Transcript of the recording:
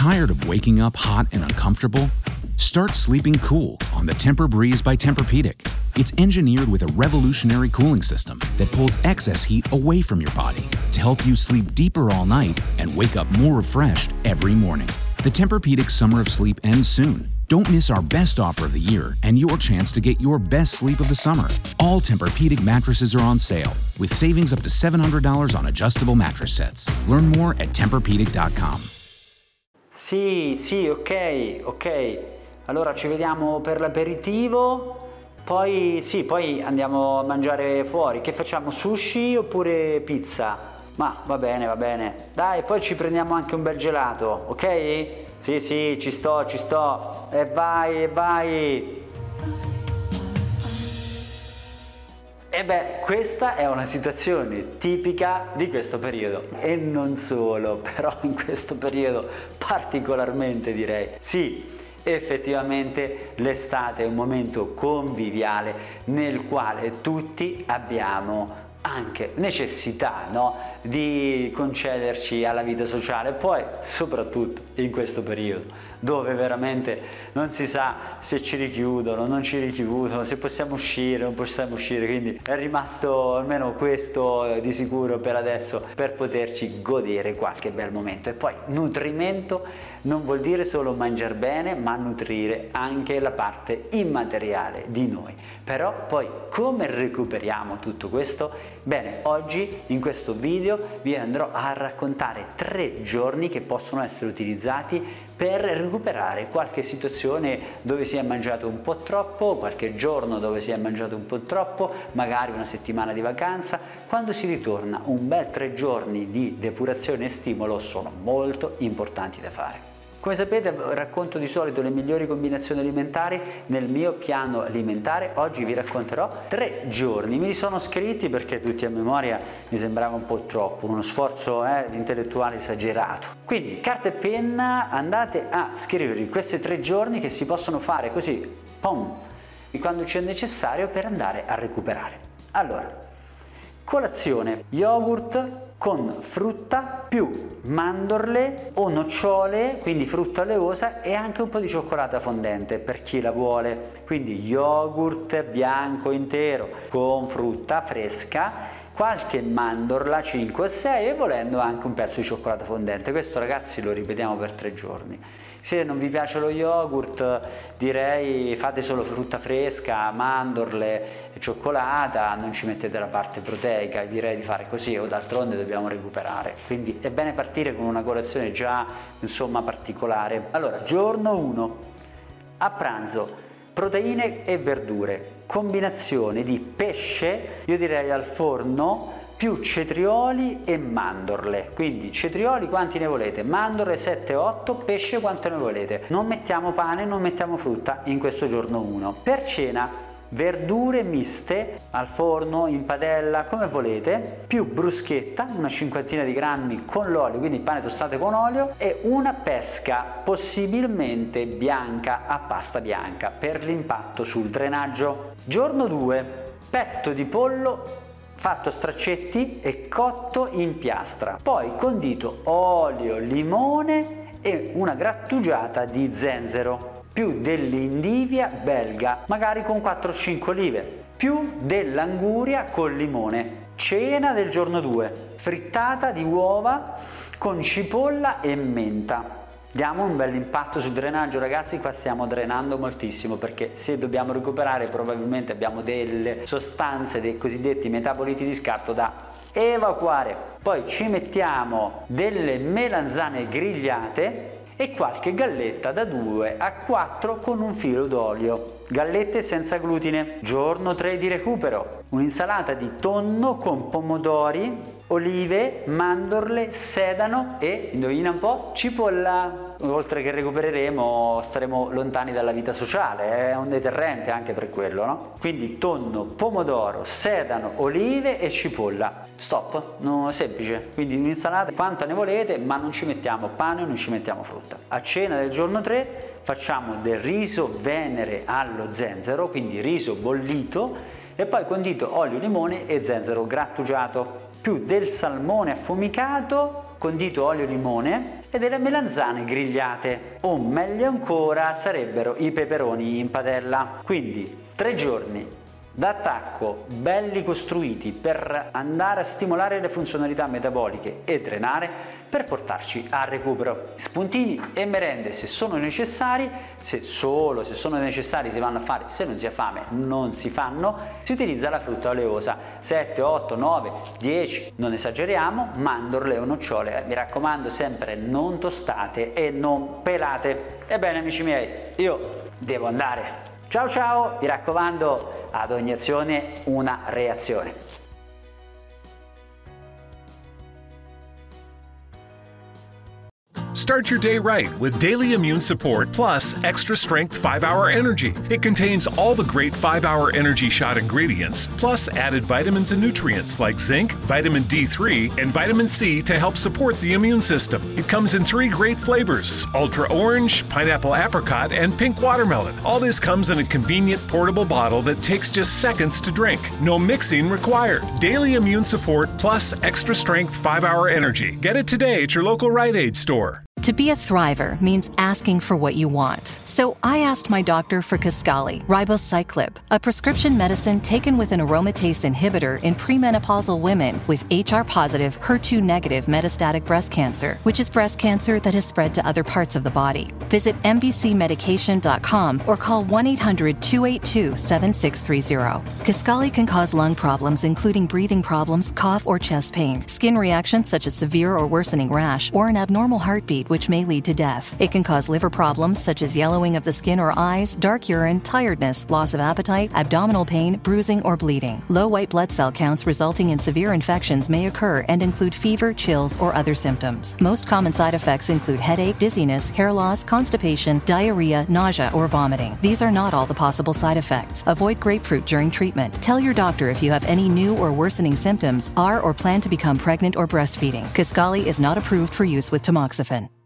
Tired of waking up hot and uncomfortable? Start sleeping cool on the Tempur-Breeze by Tempur-Pedic. It's engineered with a revolutionary cooling system that pulls excess heat away from your body to help you sleep deeper all night and wake up more refreshed every morning. The Tempur-Pedic Summer of Sleep ends soon. Don't miss our best offer of the year and your chance to get your best sleep of the summer. All Tempur-Pedic mattresses are on sale, with savings up to $700 on adjustable mattress sets. Learn more at TempurPedic.com. Sì, ok. Allora ci vediamo per l'aperitivo, poi andiamo a mangiare fuori. Che facciamo, sushi oppure pizza? Ma va bene. Dai, poi ci prendiamo anche un bel gelato, ok? Sì, ci sto. E vai. E beh, questa è una situazione tipica di questo periodo. E non solo, però in questo periodo particolarmente direi. Sì, effettivamente l'estate è un momento conviviale nel quale tutti abbiamo anche necessità, no? Di concederci alla vita sociale, poi soprattutto in questo periodo dove veramente non si sa se ci richiudono, non ci richiudono, se possiamo uscire, non possiamo uscire, quindi è rimasto almeno questo di sicuro per adesso, per poterci godere qualche bel momento. E poi nutrimento non vuol dire solo mangiare bene, ma nutrire anche la parte immateriale di noi. Però poi come recuperiamo tutto questo? Bene, oggi in questo video vi andrò a raccontare 3 giorni che possono essere utilizzati per recuperare qualche situazione dove si è mangiato un po' troppo, qualche giorno dove si è mangiato un po' troppo, magari una settimana di vacanza. Quando si ritorna, un bel 3 giorni di depurazione e stimolo sono molto importanti da fare. Come sapete, racconto di solito le migliori combinazioni alimentari nel mio piano alimentare. Oggi vi racconterò 3 giorni. Me li sono scritti perché tutti a memoria mi sembrava un po' troppo, uno sforzo intellettuale esagerato. Quindi carta e penna, andate a scrivervi questi 3 giorni che si possono fare così, pom, quando c'è necessario per andare a recuperare. Allora, colazione, yogurt con frutta più mandorle o nocciole, quindi frutta oleosa, e anche un po' di cioccolata fondente per chi la vuole. Quindi yogurt bianco intero con frutta fresca, qualche mandorla 5 o 6 e volendo anche un pezzo di cioccolata fondente. Questo, ragazzi, lo ripetiamo per 3 giorni. Se non vi piace lo yogurt, direi fate solo frutta fresca, mandorle e cioccolata, non ci mettete la parte proteica, direi di fare così, o d'altronde dobbiamo recuperare. Quindi è bene partire con una colazione già, insomma, particolare. Allora, giorno 1, a pranzo, proteine e verdure, combinazione di pesce, io direi al forno, più cetrioli e mandorle. Quindi cetrioli quanti ne volete, mandorle 7-8, pesce quanto ne volete. Non mettiamo pane, non mettiamo frutta in questo giorno 1. Per cena, verdure miste al forno, in padella, come volete, più bruschetta, una 50 di grammi con l'olio, quindi pane tostato con olio, e una pesca possibilmente bianca a pasta bianca per l'impatto sul drenaggio. Giorno 2, petto di pollo fatto straccetti e cotto in piastra, poi condito olio, limone e una grattugiata di zenzero, più dell'indivia belga, magari con 4-5 olive, più dell'anguria col limone. Cena del giorno 2, frittata di uova con cipolla e menta. Diamo un bel impatto sul drenaggio, ragazzi. Qua stiamo drenando moltissimo perché se dobbiamo recuperare probabilmente abbiamo delle sostanze, dei cosiddetti metaboliti di scarto da evacuare. Poi ci mettiamo delle melanzane grigliate e qualche galletta da 2 a 4 con un filo d'olio. Gallette senza glutine. Giorno 3 di recupero, un'insalata di tonno con pomodori, olive, mandorle, sedano e, indovina un po', cipolla. Oltre che recupereremo, staremo lontani dalla vita sociale, è un deterrente anche per quello, no? Quindi tonno, pomodoro, sedano, olive e cipolla. Stop, no, semplice. Quindi un'insalata quanta ne volete, ma non ci mettiamo pane, non ci mettiamo frutta. A cena del giorno 3 facciamo del riso venere allo zenzero, quindi riso bollito e poi condito olio, limone e zenzero grattugiato, più del salmone affumicato, condito olio, limone e delle melanzane grigliate, o meglio ancora sarebbero i peperoni in padella. Quindi 3 giorni d'attacco belli costruiti per andare a stimolare le funzionalità metaboliche e drenare per portarci al recupero. Spuntini e merende se sono necessari, se sono necessari si vanno a fare, se non si ha fame non si fanno, si utilizza la frutta oleosa, 7, 8, 9, 10, non esageriamo, mandorle o nocciole, mi raccomando sempre non tostate e non pelate. Ebbene amici miei, io devo andare. Ciao ciao, mi raccomando, ad ogni azione una reazione. Start your day right with Daily Immune Support Plus Extra Strength 5-Hour Energy. It contains all the great 5-Hour Energy Shot ingredients, plus added vitamins and nutrients like zinc, vitamin D3, and vitamin C to help support the immune system. It comes in 3 great flavors: Ultra Orange, Pineapple Apricot, and Pink Watermelon. All this comes in a convenient portable bottle that takes just seconds to drink. No mixing required. Daily Immune Support Plus Extra Strength 5-Hour Energy. Get it today at your local Rite Aid store. To be a thriver means asking for what you want. So I asked my doctor for Kisqali, ribociclib, a prescription medicine taken with an aromatase inhibitor in premenopausal women with HR-positive, HER2-negative metastatic breast cancer, which is breast cancer that has spread to other parts of the body. Visit mbcmedication.com or call 1-800-282-7630. Kisqali can cause lung problems including breathing problems, cough, or chest pain, skin reactions such as severe or worsening rash, or an abnormal heartbeat, which may lead to death. It can cause liver problems such as yellowing of the skin or eyes, dark urine, tiredness, loss of appetite, abdominal pain, bruising, or bleeding. Low white blood cell counts resulting in severe infections may occur and include fever, chills, or other symptoms. Most common side effects include headache, dizziness, hair loss, constipation, diarrhea, nausea, or vomiting. These are not all the possible side effects. Avoid grapefruit during treatment. Tell your doctor if you have any new or worsening symptoms, are or plan to become pregnant or breastfeeding. Kisqali is not approved for use with tamoxifen.